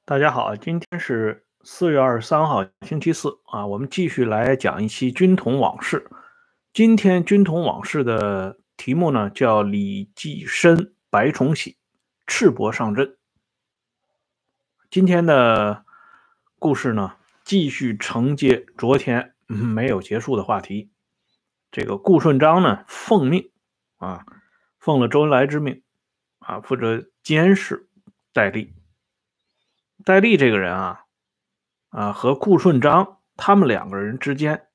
大家好，今天是4月23号，星期四啊，我们继续来讲一期军统往事。今天军统往事的题目呢叫李济深、白崇禧赤膊上阵。今天的故事呢继续承接昨天没有结束的话题。这个顾顺章呢奉命啊，奉了周恩来之命啊，负责监视戴笠。戴笠这个人和顾顺章他们两个人之间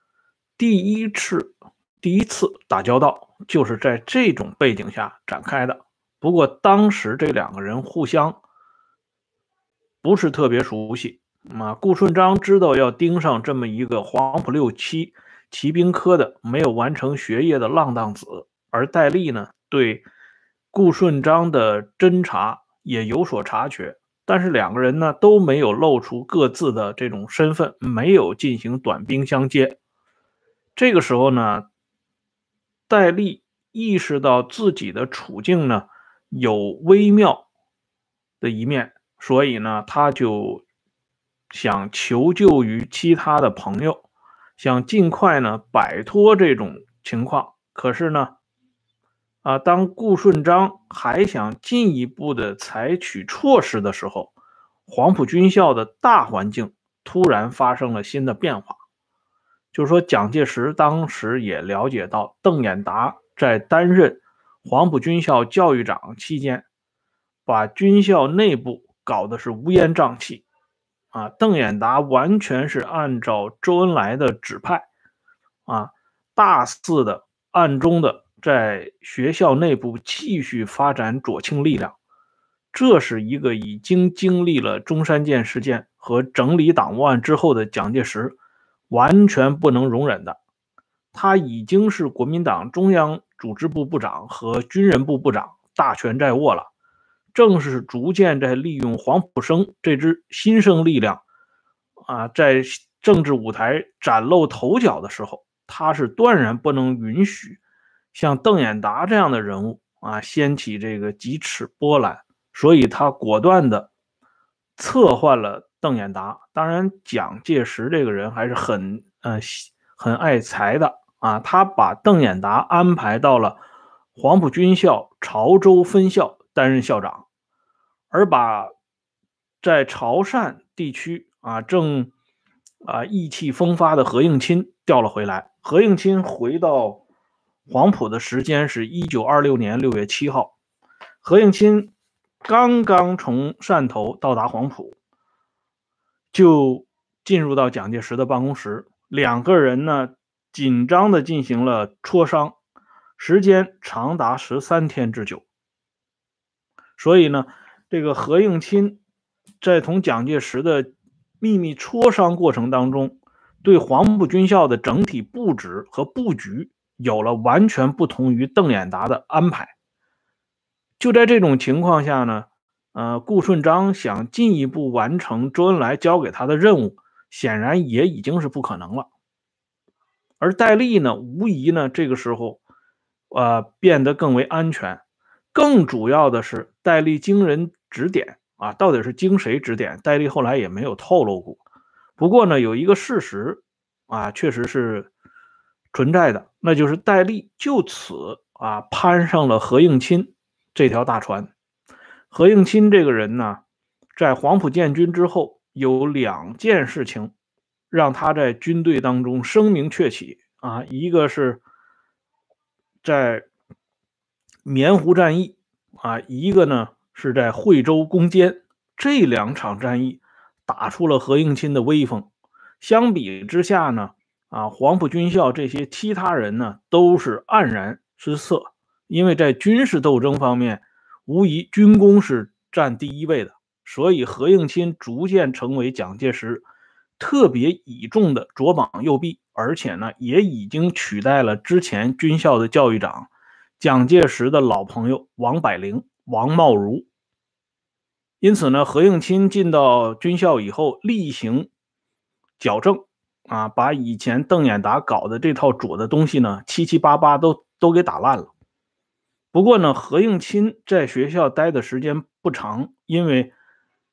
第一次打交道，就是在这种背景下展开的。不过当时这两个人互相不是特别熟悉顾顺章知道要盯上这么一个黄埔6期骑兵科的没有完成学业的浪荡子，而戴笠呢对顾顺章的侦查也有所察觉，但是两个人呢都没有露出各自的这种身份，没有进行短兵相接。这个时候呢，戴笠意识到自己的处境呢有微妙的一面，所以呢他就想求救于其他的朋友，想尽快呢摆脱这种情况。可是呢当顾顺章还想进一步的采取措施的时候，黄埔军校的大环境突然发生了新的变化。就是说，蒋介石当时也了解到邓演达在担任黄埔军校教育长期间，把军校内部搞得是乌烟瘴气邓演达完全是按照周恩来的指派大肆的暗中的在学校内部继续发展左倾力量。这是一个已经经历了中山舰事件和整理党务案之后的蒋介石完全不能容忍的。他已经是国民党中央组织部部长和军人部部长，大权在握了，正是逐渐在利用黄埔生这支新生力量在政治舞台崭露头角的时候，他是断然不能允许像邓演达这样的人物掀起这个几尺波澜，所以他果断的策换了邓演达。当然蒋介石这个人还是很爱才的他把邓演达安排到了黄埔军校潮州分校担任校长，而把在潮汕地区正意气风发的何应钦调了回来。何应钦回到黄埔的时间是1926年6月7号。何应钦刚刚从汕头到达黄埔，就进入到蒋介石的办公室，两个人呢紧张的进行了磋商，时间长达13天之久。所以呢，这个何应钦在同蒋介石的秘密磋商过程当中，对黄埔军校的整体布置和布局有了完全不同于邓演达的安排。就在这种情况下呢，顾顺章想进一步完成周恩来交给他的任务，显然也已经是不可能了。而戴笠呢，无疑呢，这个时候变得更为安全。更主要的是，戴笠经人指点到底是经谁指点，戴笠后来也没有透露过。不过呢，有一个事实确实是存在的，那就是戴笠就此攀上了何应钦这条大船。何应钦这个人呢，在黄埔建军之后，有两件事情让他在军队当中声名鹊起一个是在棉湖战役一个呢是在惠州攻坚。这两场战役打出了何应钦的威风。相比之下呢黄埔军校这些其他人呢都是黯然失色，因为在军事斗争方面无疑军功是占第一位的，所以何应钦逐渐成为蒋介石特别倚重的左膀右臂，而且呢也已经取代了之前军校的教育长蒋介石的老朋友王柏龄、王茂如。因此呢，何应钦进到军校以后，例行矫正把以前邓演达搞的这套左的东西呢，七七八八都给打烂了。不过呢，何应钦在学校待的时间不长，因为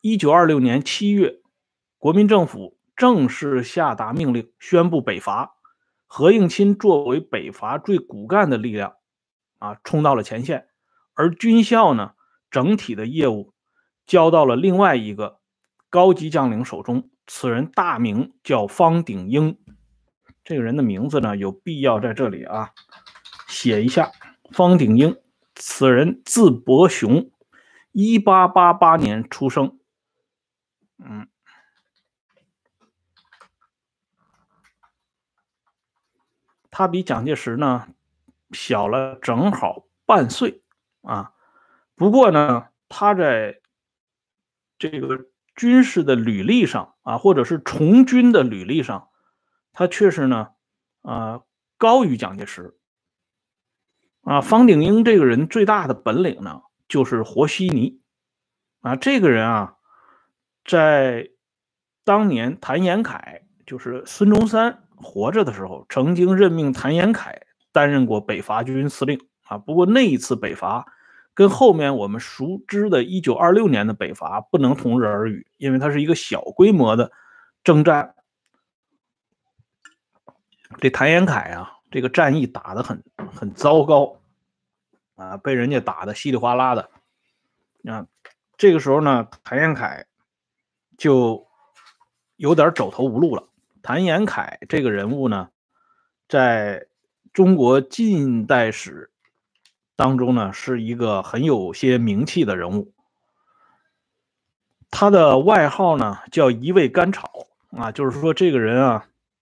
1926年7月，国民政府正式下达命令，宣布北伐。何应钦作为北伐最骨干的力量冲到了前线，而军校呢，整体的业务交到了另外一个高级将领手中，此人大名叫方鼎英。这个人的名字呢，有必要在这里写一下。方鼎英，此人字伯雄，1888年出生。他比蒋介石呢小了正好半岁不过呢，他在这个军事的履历上或者是从军的履历上，他确实呢高于蒋介石方鼎英这个人最大的本领呢，就是和稀泥这个人在当年谭延闿就是孙中山活着的时候，曾经任命谭延闿担任过北伐军司令不过那一次北伐跟后面我们熟知的1926年的北伐不能同日而语，因为它是一个小规模的征战。这谭延闿这个战役打得很糟糕被人家打得稀里哗啦的这个时候呢，谭延闿就有点走投无路了。谭延闿这个人物呢，在中国近代史当中呢，是一个很有些名气的人物。他的外号呢叫一味甘草就是说这个人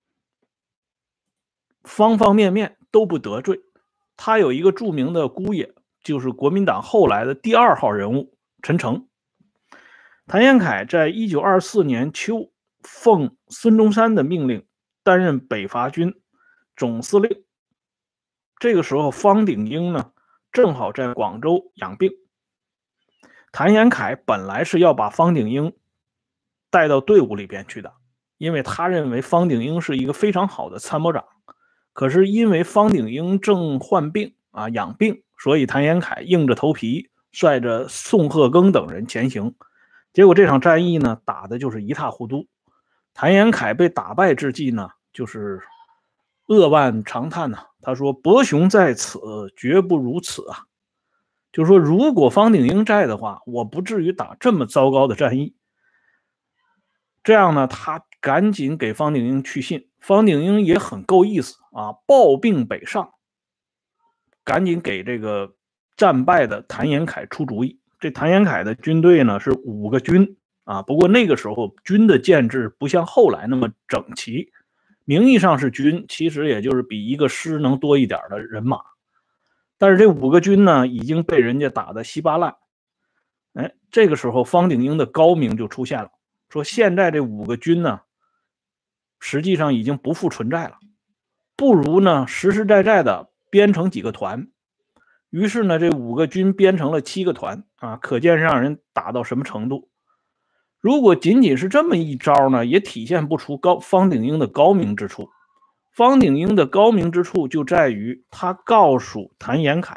方方面面都不得罪。他有一个著名的姑爷，就是国民党后来的第2号人物陈诚。谭延闿在1924年秋奉孙中山的命令担任北伐军总司令。这个时候方鼎英呢正好在广州养病。谭延闿本来是要把方鼎英带到队伍里边去的，因为他认为方鼎英是一个非常好的参谋长。可是因为方鼎英正患病养病，所以谭延闿硬着头皮率着宋鹤庚等人前行。结果这场战役呢打的就是一塌糊涂。谭延闿被打败之际呢，就是扼腕长叹他说：“伯雄在此，绝不如此就是说，如果方鼎英在的话，我不至于打这么糟糕的战役。这样呢，他赶紧给方鼎英去信。方鼎英也很够意思抱病北上，赶紧给这个战败的谭延闿出主意。这谭延闿的军队呢是5个军不过那个时候军的建制不像后来那么整齐，名义上是军，其实也就是比一个师能多一点的人马。但是这5个军呢已经被人家打得稀巴烂。这个时候方鼎英的高明就出现了，说现在这5个军呢实际上已经不复存在了，不如呢实实在在的编成几个团。于是呢这5个军编成了7个团可见让人打到什么程度。如果仅仅是这么一招呢，也体现不出方鼎英的高明之处。方鼎英的高明之处就在于他告诉谭延闿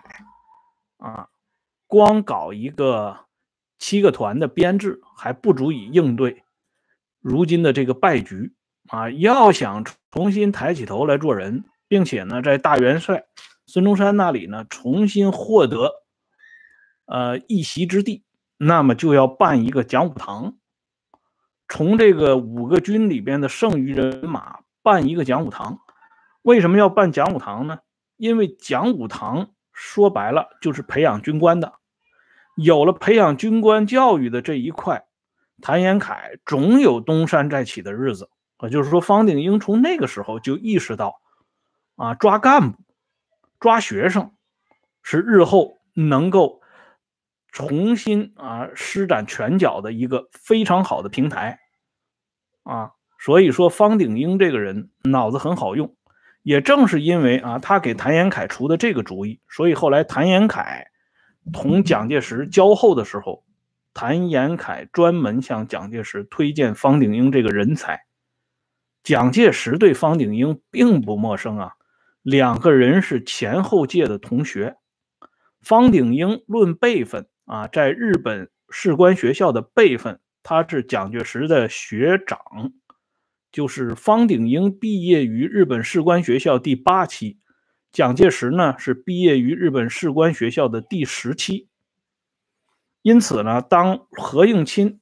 光搞一个7个团的编制还不足以应对如今的这个败局要想重新抬起头来做人，并且呢在大元帅孙中山那里呢重新获得一席之地，那么就要办一个讲武堂，从这个5个军里边的剩余人马办一个讲武堂。为什么要办讲武堂呢？因为讲武堂说白了就是培养军官的，有了培养军官教育的这一块，谭延闿总有东山再起的日子。就是说方鼎英从那个时候就意识到抓干部抓学生是日后能够重新施展拳脚的一个非常好的平台所以说方鼎英这个人脑子很好用。也正是因为他给谭延闿出的这个主意，所以后来谭延闿同蒋介石交厚的时候，谭延闿专门向蒋介石推荐方鼎英这个人才。蒋介石对方鼎英并不陌生2个人是前后届的同学。方鼎英论辈分在日本士官学校的辈分， 他是蒋介石的学长，就是方鼎英毕业于日本士官学校第8期，蒋介石呢是毕业于日本士官学校的第10期。因此呢，当何应钦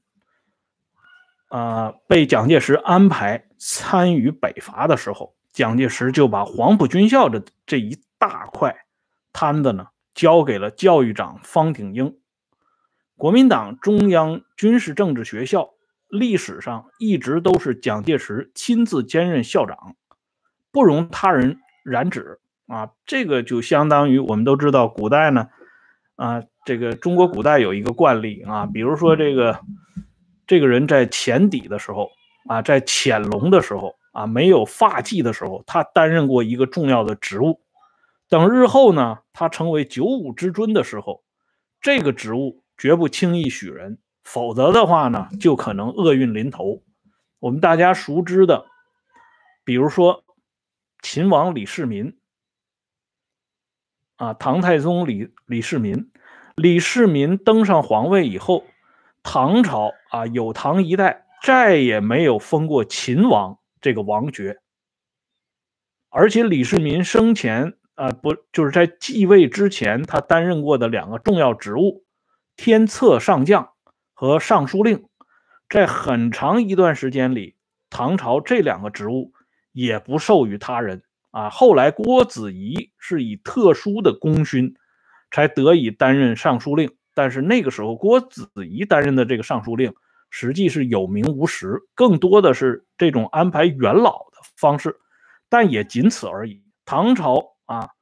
被蒋介石安排参与北伐的时候，蒋介石就把黄埔军校的这一大块摊子呢交给了教育长方鼎英。国民党中央军事政治学校历史上一直都是蒋介石亲自兼任校长，不容他人染指这个就相当于我们都知道古代呢这个中国古代有一个惯例比如说这个人在潜底的时候在潜龙的时候没有发迹的时候，他担任过一个重要的职务。等日后呢，他成为95之尊的时候，这个职务绝不轻易许人，否则的话呢，就可能厄运临头。我们大家熟知的，比如说秦王李世民唐太宗李世民。李世民登上皇位以后，唐朝有唐一代再也没有封过秦王这个王爵。而且李世民生前就是在继位之前，他担任过的2个重要职务，天策上将和尚书令，在很长一段时间里，唐朝这2个职务也不授予他人后来郭子仪是以特殊的功勋才得以担任尚书令，但是那个时候郭子仪担任的这个尚书令实际是有名无实，更多的是这种安排元老的方式，但也仅此而已。唐朝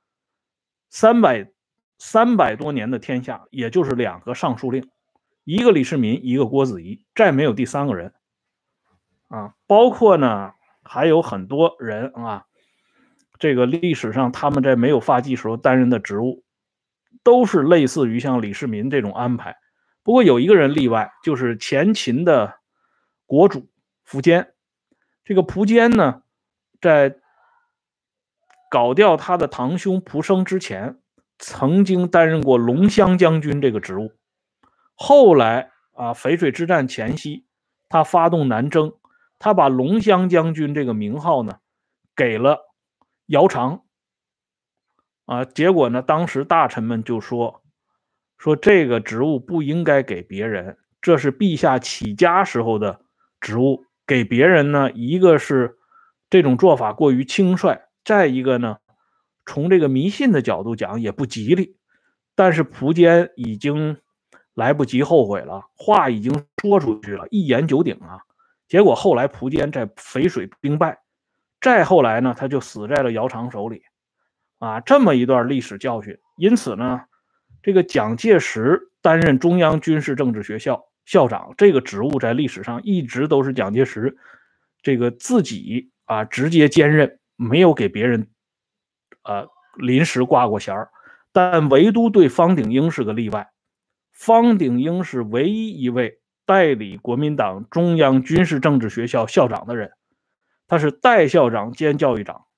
300多年的天下，也就是2个尚书令，一个李世民，一个郭子仪，再没有第3个人包括呢还有很多人这个历史上他们在没有发迹时候担任的职务，都是类似于像李世民这种安排。不过有一个人例外，就是前秦的国主苻坚。这个苻坚呢，在搞掉他的堂兄苻生之前，曾经担任过龙骧将军这个职务。后来淝水之战前夕，他发动南征，他把龙骧将军这个名号呢给了姚苌结果呢，当时大臣们就说这个职务不应该给别人，这是陛下起家时候的职务，给别人呢，一个是这种做法过于轻率，再一个呢，从这个迷信的角度讲也不吉利。但是苻坚已经来不及后悔了，话已经说出去了，一言九鼎结果后来苻坚在淝水兵败，再后来呢，他就死在了姚苌手里这么一段历史教训。因此呢，这个蒋介石担任中央军事政治学校校长这个职务，在历史上一直都是蒋介石这个自己直接兼任，没有给别人临时挂过衔儿。但唯独对方鼎英是个例外，方鼎英是唯一一位代理国民党中央军事政治学校校长的人，他是代校长兼教育长。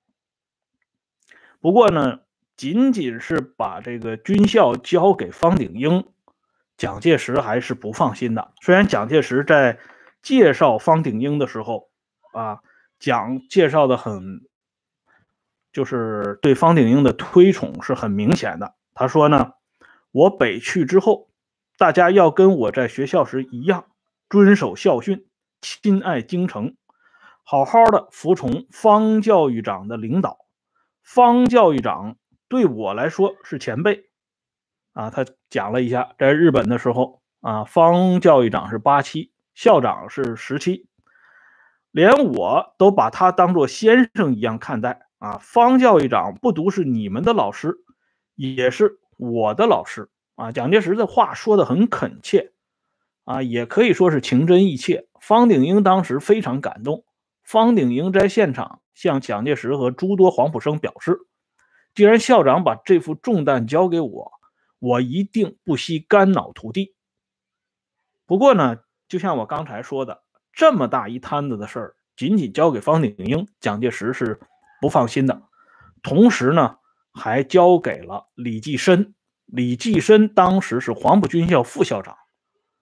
不过呢，仅仅是把这个军校交给方鼎英，蒋介石还是不放心的。虽然蒋介石在介绍方鼎英的时候介绍的就是对方鼎英的推崇是很明显的。他说呢，我北去之后，大家要跟我在学校时一样，遵守校训，亲爱京城，好好的服从方教育长的领导。方教育长对我来说是前辈他讲了一下，在日本的时候方教育长是8期，校长是10期，连我都把他当作先生一样看待方教育长不独是你们的老师，也是我的老师蒋介石的话说得很恳切也可以说是情真意切。方鼎英当时非常感动，方鼎英在现场向蒋介石和诸多黄埔生表示，既然校长把这副重担交给我，我一定不惜肝脑涂地。不过呢，就像我刚才说的，这么大一摊子的事儿，仅仅交给方鼎英，蒋介石是不放心的。同时呢，还交给了李济深。李济深当时是黄埔军校副校长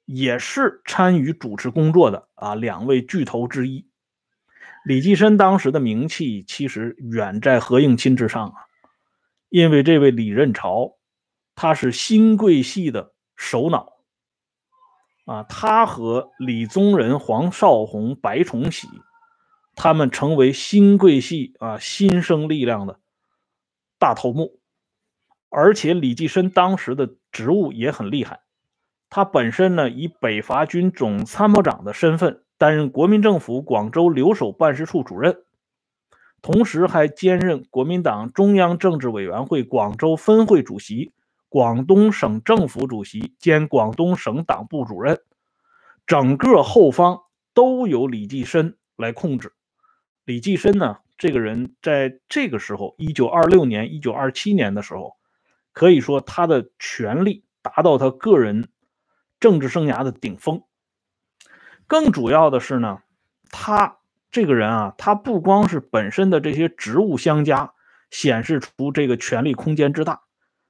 也是参与主持工作的2位巨头之一。李济深当时的名气其实远在何应钦之上因为这位李任潮，他是新贵系的首脑他和李宗仁、黄绍竑、白崇禧，他们成为新贵系新生力量的大头目。而且李济深当时的职务也很厉害，他本身呢以北伐军总参谋长的身份担任国民政府广州留守办事处主任，同时还兼任国民党中央政治委员会广州分会主席、广东省政府主席兼广东省党部主任，整个后方都由李济深来控制。李济深呢，这个人在这个时候1926年、1927年的时候，可以说他的权力达到他个人政治生涯的顶峰。更主要的是呢，他这个人他不光是本身的这些职务相加显示出这个权力空间之大，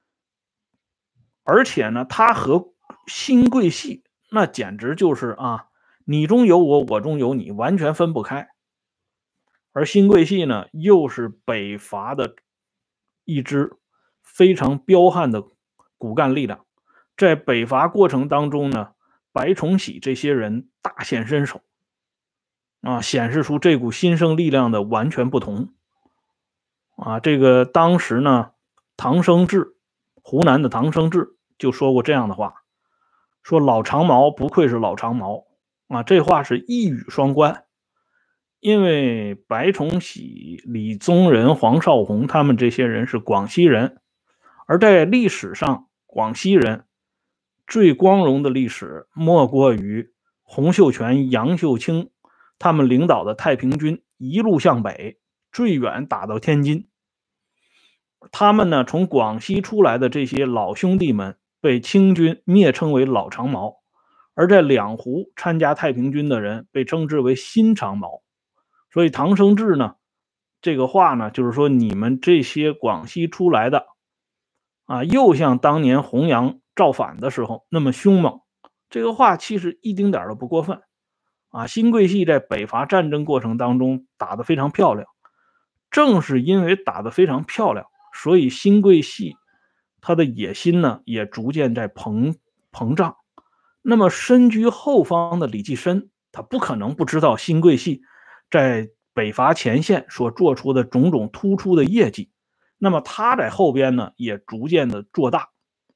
而且呢，他和新贵系那简直就是你中有我，我中有你，完全分不开。而新贵系呢，又是北伐的一支非常彪悍的骨干力量，在北伐过程当中呢，白崇禧这些人大显身手显示出这股新生力量的完全不同这个当时呢，唐生智，湖南的唐生智就说过这样的话，说老长毛不愧是老长毛这话是一语双关。因为白崇禧、李宗仁、黄绍竑他们这些人是广西人，而在历史上，广西人最光荣的历史莫过于洪秀全、杨秀清他们领导的太平军一路向北，最远打到天津。他们呢，从广西出来的这些老兄弟们被清军蔑称为老长毛，而在两湖参加太平军的人被称之为新长毛。所以唐生智呢，这个话呢，就是说你们这些广西出来的又像当年洪杨造反的时候那么凶猛。这个话其实一丁点都不过分新贵系在北伐战争过程当中打得非常漂亮，正是因为打得非常漂亮，所以新贵系他的野心呢也逐渐在膨胀。那么身居后方的李济深，他不可能不知道新贵系在北伐前线所做出的种种突出的业绩，那么他在后边呢也逐渐的做大。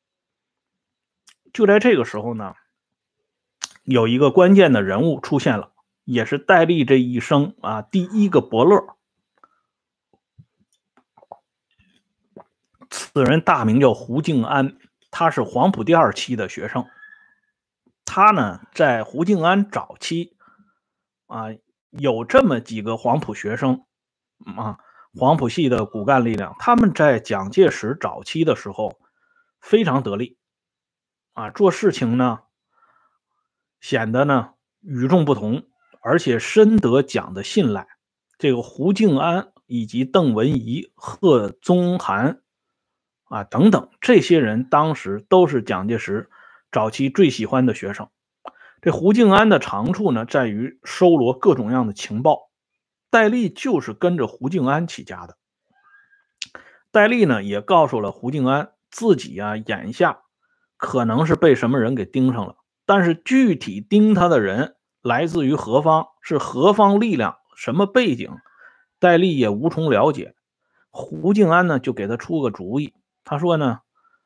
就在这个时候呢，有一个关键的人物出现了，也是戴笠这一生第一个伯乐。此人大名叫胡敬安，他是黄埔第2期的学生。他呢在胡敬安早期有这么几个黄埔学生黄埔系的骨干力量，他们在蒋介石早期的时候非常得力做事情呢显得呢与众不同，而且深得蒋的信赖。这个胡敬安以及邓文仪、贺宗涵等等这些人当时都是蒋介石早期最喜欢的学生。这胡敬安的长处呢在于收罗各种样的情报，戴笠就是跟着胡敬安起家的。戴笠呢也告诉了胡敬安自己眼下可能是被什么人给盯上了，但是具体盯他的人来自于何方，是何方力量，什么背景，戴笠也无从了解。胡敬安呢就给他出个主意，他说呢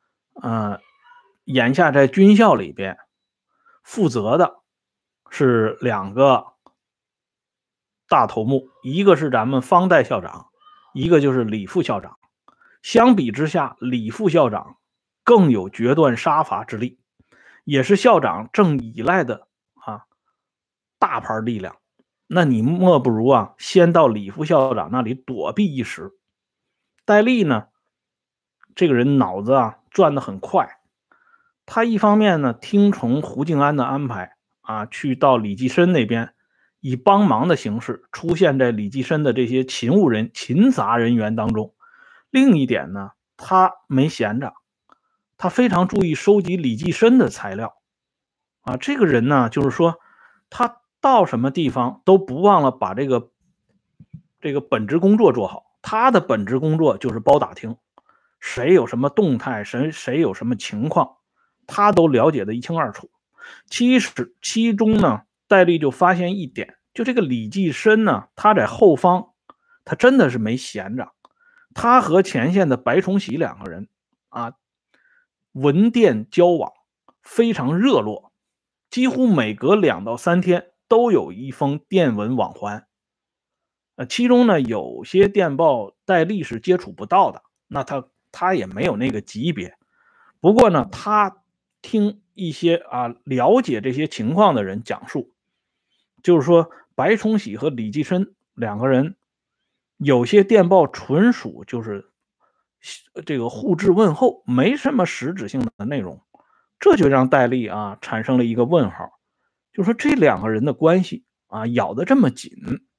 眼下在军校里边负责的是2个大头目，一个是咱们方代校长，一个就是李副校长。相比之下，李副校长更有决断杀伐之力，也是校长正依赖的大牌力量。那你莫不如先到李副校长那里躲避一时。戴笠呢这个人脑子转得很快，他一方面呢听从胡敬安的安排去到李济深那边，以帮忙的形式出现在李济深的这些勤杂人员当中。另一点呢，他没闲着，他非常注意收集李济深的材料这个人呢，就是说他到什么地方都不忘了把这个本职工作做好。他的本职工作就是包打听，谁有什么动态，谁有什么情况，他都了解的一清二楚。其中呢，戴笠就发现一点，就这个李济深呢，他在后方，他真的是没闲着。他和前线的白崇禧两个人文电交往非常热络，几乎每隔2到3天都有一封电文往还。其中呢，有些电报戴笠是接触不到的，那他也没有那个级别。不过呢，他听一些了解这些情况的人讲述，就是说白崇禧和李济深两个人有些电报纯属就是这个互致问候，没什么实质性的内容。这就让戴笠产生了一个问号，就是说这两个人的关系咬得这么紧，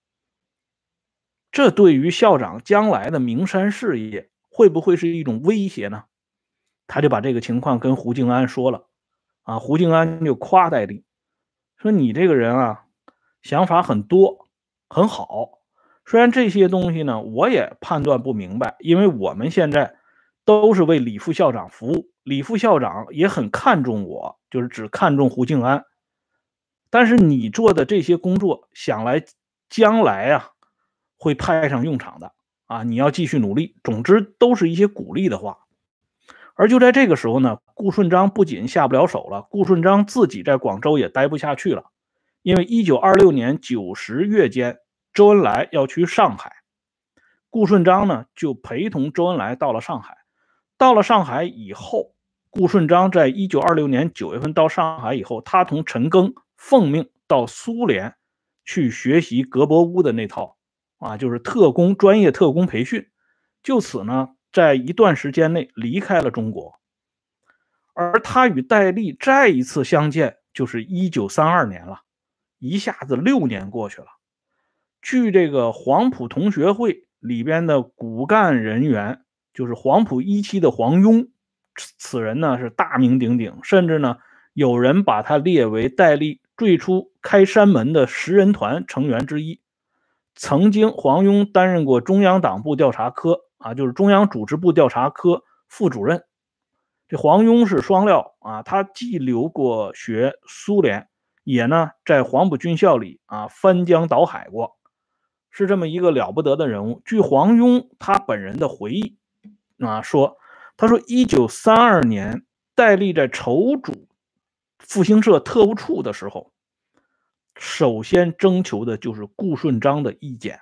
这对于校长将来的名山事业会不会是一种威胁呢？他就把这个情况跟胡静安说了。胡静安就夸戴笠，说你这个人想法很多，很好。虽然这些东西呢，我也判断不明白，因为我们现在都是为李副校长服务，李副校长也很看重我，就是只看重胡静安。但是你做的这些工作，想来将来会派上用场的你要继续努力。总之都是一些鼓励的话。而就在这个时候呢，顾顺章不仅下不了手了，顾顺章自己在广州也待不下去了。因为1926年9、10月间，周恩来要去上海，顾顺章呢就陪同周恩来到了上海。到了上海以后，顾顺章在1926年9月份到上海以后，他同陈赓奉命到苏联去学习格伯乌的那套就是专业特工培训。就此呢，在一段时间内离开了中国。而他与戴笠再一次相见就是1932年了，一下子6年过去了。据这个黄埔同学会里边的骨干人员，就是黄埔一期的黄庸，此人呢是大名鼎鼎，甚至呢有人把他列为戴笠最初开山门的10人团成员之一。曾经黄庸担任过中央党部调查科就是中央组织部调查科副主任。这黄庸是双料他既留过学苏联，也呢在黄埔军校里翻江倒海过，是这么一个了不得的人物。据黄庸他本人的回忆说，他说1932年戴笠在筹组复兴社特务处的时候，首先征求的就是顾顺章的意见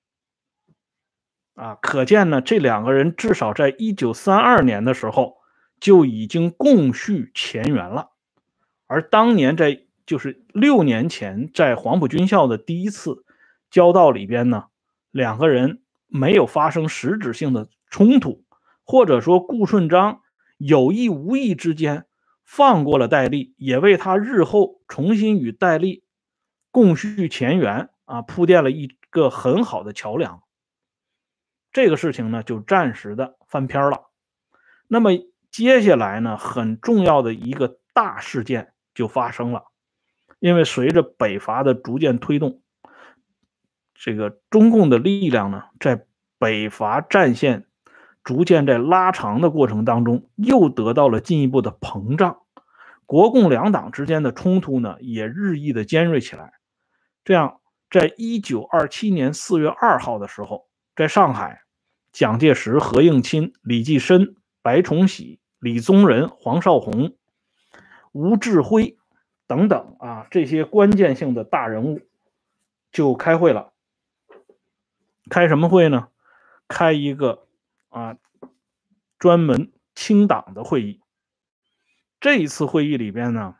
可见呢，这两个人至少在1932年的时候就已经共叙前缘了。而当年就是6年前在黄埔军校的第一次交道里边呢，两个人没有发生实质性的冲突，或者说顾顺章有意无意之间放过了戴笠，也为他日后重新与戴笠共叙前缘铺垫了一个很好的桥梁。这个事情呢就暂时的翻篇了。那么接下来呢，很重要的一个大事件就发生了。因为随着北伐的逐渐推动，这个中共的力量呢，在北伐战线逐渐在拉长的过程当中，又得到了进一步的膨胀。国共两党之间的冲突呢，也日益的尖锐起来。这样，在1927年4月2号的时候，在上海，蒋介石、何应钦、李济深、白崇禧、李宗仁、黄绍竑、吴志辉等等这些关键性的大人物就开会了。开什么会呢？开一个专门清党的会议。这一次会议里边呢，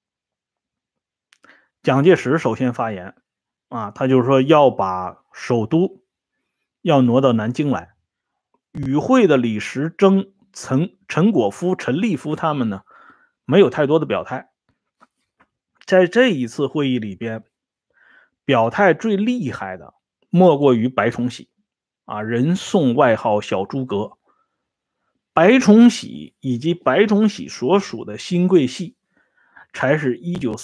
蒋介石首先发言他就是说要把首都要挪到南京来。与会的李时珍、陈果夫、陈立夫他们呢，没有太多的表态。在这一次会议里边，表态最厉害的莫过于白崇禧人送外号小诸葛。白崇禧以及白崇禧所属的新桂系才是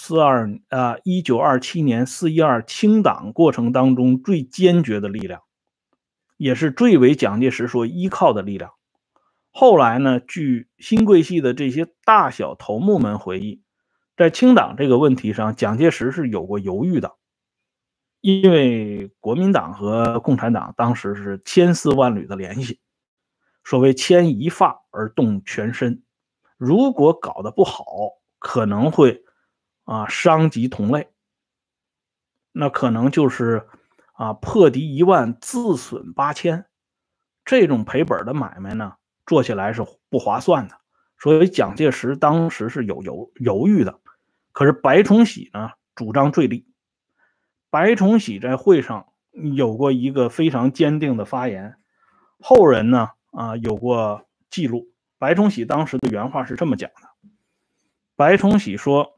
1927年4·12清党过程当中最坚决的力量，也是最为蒋介石所依靠的力量。后来呢，据新桂系的这些大小头目们回忆，在清党这个问题上，蒋介石是有过犹豫的，因为国民党和共产党当时是千丝万缕的联系，所谓牵一发而动全身，如果搞得不好，可能会伤及同类，那可能就是破敌10000，自损8000，这种赔本的买卖呢，做起来是不划算的。所以蒋介石当时是有犹豫的。可是白崇禧呢主张最厉。白崇禧在会上有过一个非常坚定的发言，后人呢有过记录。白崇禧当时的原话是这么讲的：白崇禧说，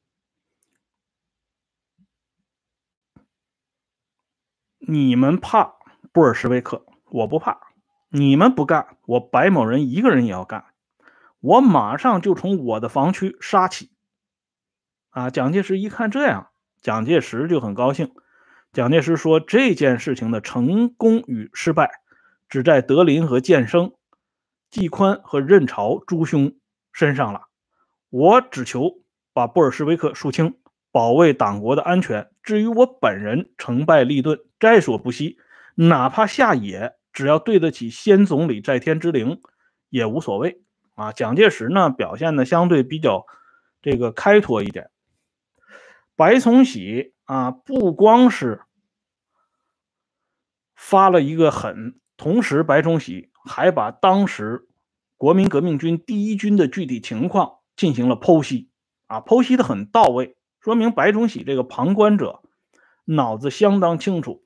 你们怕布尔什维克，我不怕，你们不干，我白某人一个人也要干，我马上就从我的防区杀起。蒋介石一看这样，蒋介石就很高兴。蒋介石说，这件事情的成功与失败只在德林和建生、季宽和任潮诸兄身上了，我只求把布尔什维克肃清，保卫党国的安全，至于我本人成败利钝在所不惜，哪怕下野，只要对得起先总理在天之灵也无所谓。蒋介石呢表现的相对比较这个开拓一点。白崇禧不光是发了一个狠，同时白崇禧还把当时国民革命军第一军的具体情况进行了剖析，剖析的很到位，说明白崇禧这个旁观者脑子相当清楚。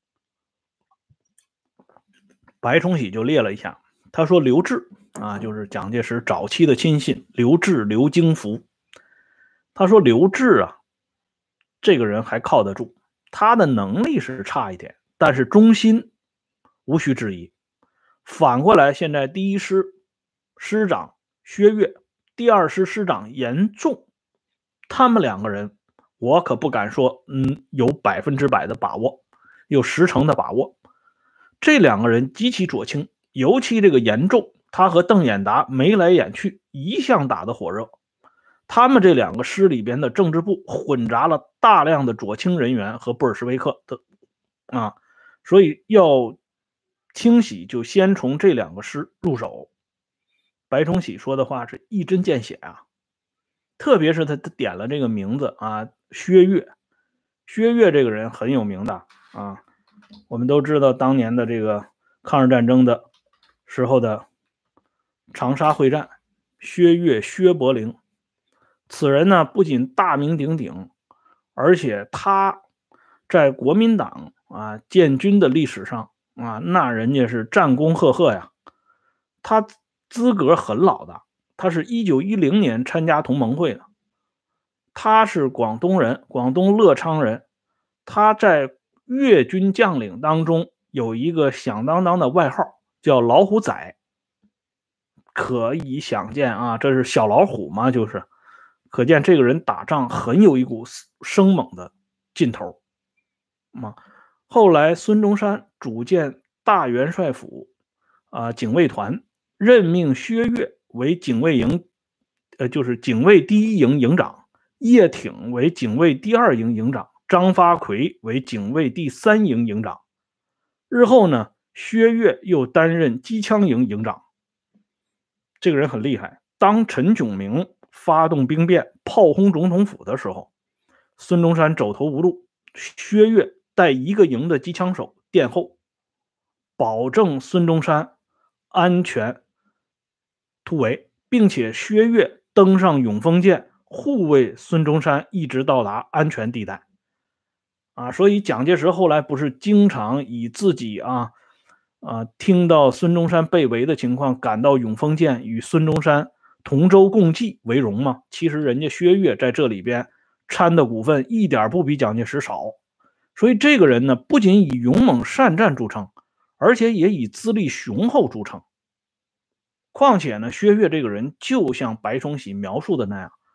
白崇禧就列了一下，他说刘峙就是蒋介石早期的亲信刘峙、刘京福。他说刘峙这个人还靠得住，他的能力是差一点，但是忠心无需质疑。反过来，现在第一师师长薛岳，第二师师长严仲，他们两个人我可不敢说有100%的把握，有10%的把握。这两个人极其左倾，尤其这个严仲，他和邓演达眉来眼去，一向打得火热。他们这两个师里边的政治部混杂了大量的左倾人员和布尔什维克的所以要清洗就先从这两个师入手。白崇禧说的话是一针见血特别是他点了这个名字薛岳。薛岳这个人很有名的我们都知道当年的这个抗日战争的时候的长沙会战，薛岳、薛伯龄。此人呢不仅大名鼎鼎，而且他在国民党建军的历史上那人家是战功赫赫呀。他资格很老的，他是1910年参加同盟会的。他是广东人，广东乐昌人。他在粤军将领当中有一个响当当的外号，叫老虎仔。可以想见这是小老虎嘛，就是可见这个人打仗很有一股生猛的劲头后来孙中山组建大元帅府警卫团，任命薛岳为警卫营就是警卫第1营营长，叶挺为警卫第2营营长，张发奎为警卫第3营营长。日后呢，薛岳又担任机枪营营长。这个人很厉害，当陈炯明发动兵变炮轰总统府的时候，孙中山走投无路，薛岳带1个营的机枪手殿后，保证孙中山安全突围，并且薛岳登上永丰舰护卫孙中山一直到达安全地带所以蒋介石后来不是经常以自己听到孙中山被围的情况赶到永丰舰与孙中山同舟共济为荣吗？其实人家薛岳在这里边掺的股份一点不比蒋介石少。所以这个人呢不仅以勇猛善战著称，而且也以资历雄厚著称。况且呢，薛岳这个人就像白崇禧描述的那样，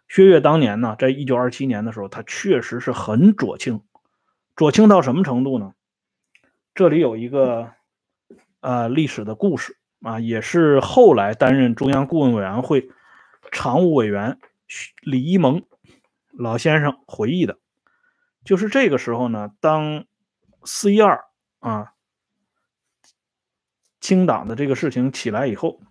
薛岳当年呢，在1927年的时候，他确实是很左倾，左倾到什么程度呢？这里有一个历史的故事啊，也是后来担任中央顾问委员会常务委员李一萌老先生回忆的。就是这个时候呢，当4·12啊清党的这个事情起来以后，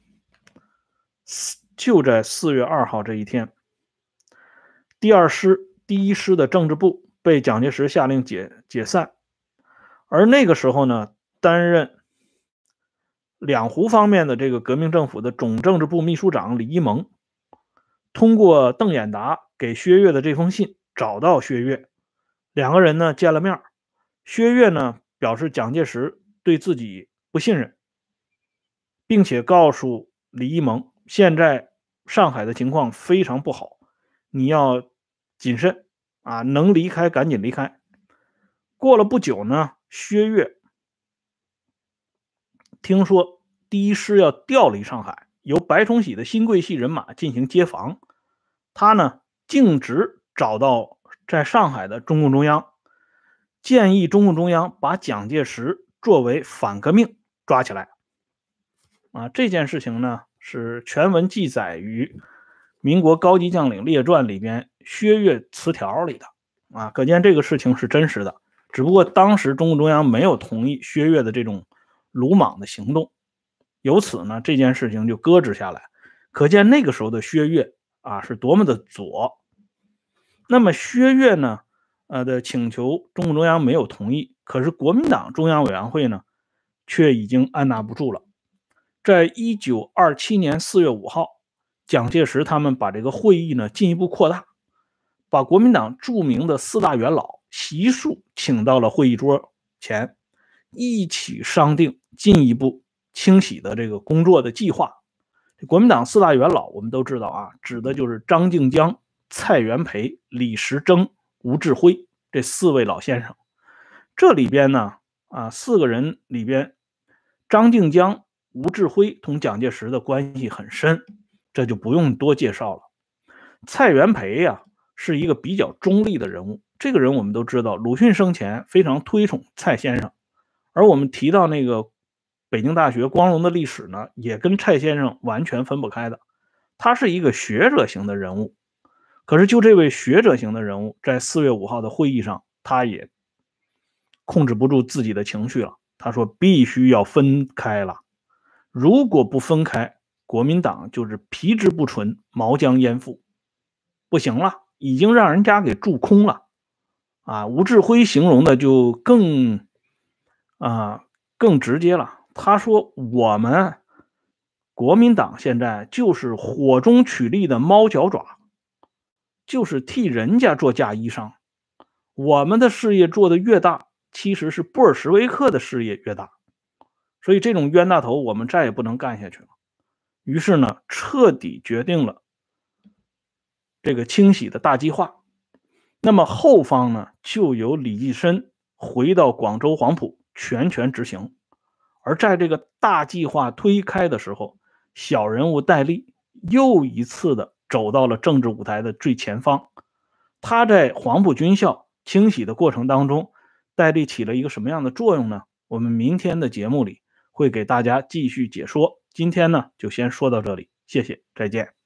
就在4月2号这一天，第2师第1师的政治部被蒋介石下令解散，而那个时候呢，担任两湖方面的这个革命政府的总政治部秘书长李一萌，通过邓演达给薛岳的这封信找到薛岳，两个人呢见了面。薛岳呢表示蒋介石对自己不信任，并且告诉李一萌，现在上海的情况非常不好，你要谨慎啊，能离开赶紧离开。过了不久呢，薛岳听说第1师要调离上海，由白崇禧的新桂系人马进行接防，他呢径直找到在上海的中共中央，建议中共中央把蒋介石作为反革命抓起来。这件事情呢是全文记载于民国高级将领列传里边薛岳词条里的可见这个事情是真实的，只不过当时中共中央没有同意薛岳的这种鲁莽的行动，由此呢这件事情就搁置下来。可见那个时候的薛岳是多么的左。那么薛岳呢的请求中共中央没有同意，可是国民党中央委员会呢却已经按捺不住了。在1927年4月5号，蒋介石他们把这个会议呢进一步扩大，把国民党著名的4大元老悉数请到了会议桌前，一起商定进一步清洗的这个工作的计划。国民党4大元老我们都知道指的就是张静江、蔡元培、李时珍、吴志辉这4位老先生。这里边呢4个人里边，张静江、吴志辉同蒋介石的关系很深，这就不用多介绍了。蔡元培是一个比较中立的人物，这个人我们都知道，鲁迅生前非常推崇蔡先生，而我们提到那个北京大学光荣的历史呢，也跟蔡先生完全分不开的。他是一个学者型的人物，可是就这位学者型的人物，在4月5号的会议上，他也控制不住自己的情绪了。他说必须要分开了，如果不分开，国民党就是皮之不存，毛将焉附，不行了，已经让人家给蛀空了吴志辉形容的就更直接了。他说我们国民党现在就是火中取栗的猫脚爪，就是替人家做嫁衣裳，我们的事业做得越大，其实是布尔什维克的事业越大，所以这种冤大头我们再也不能干下去了。于是呢，彻底决定了这个清洗的大计划。那么后方呢，就由李济深回到广州黄埔全权执行。而在这个大计划推开的时候，小人物戴笠又一次的走到了政治舞台的最前方。他在黄埔军校清洗的过程当中，戴笠起了一个什么样的作用呢？我们明天的节目里会给大家继续解说。今天呢，就先说到这里，谢谢，再见。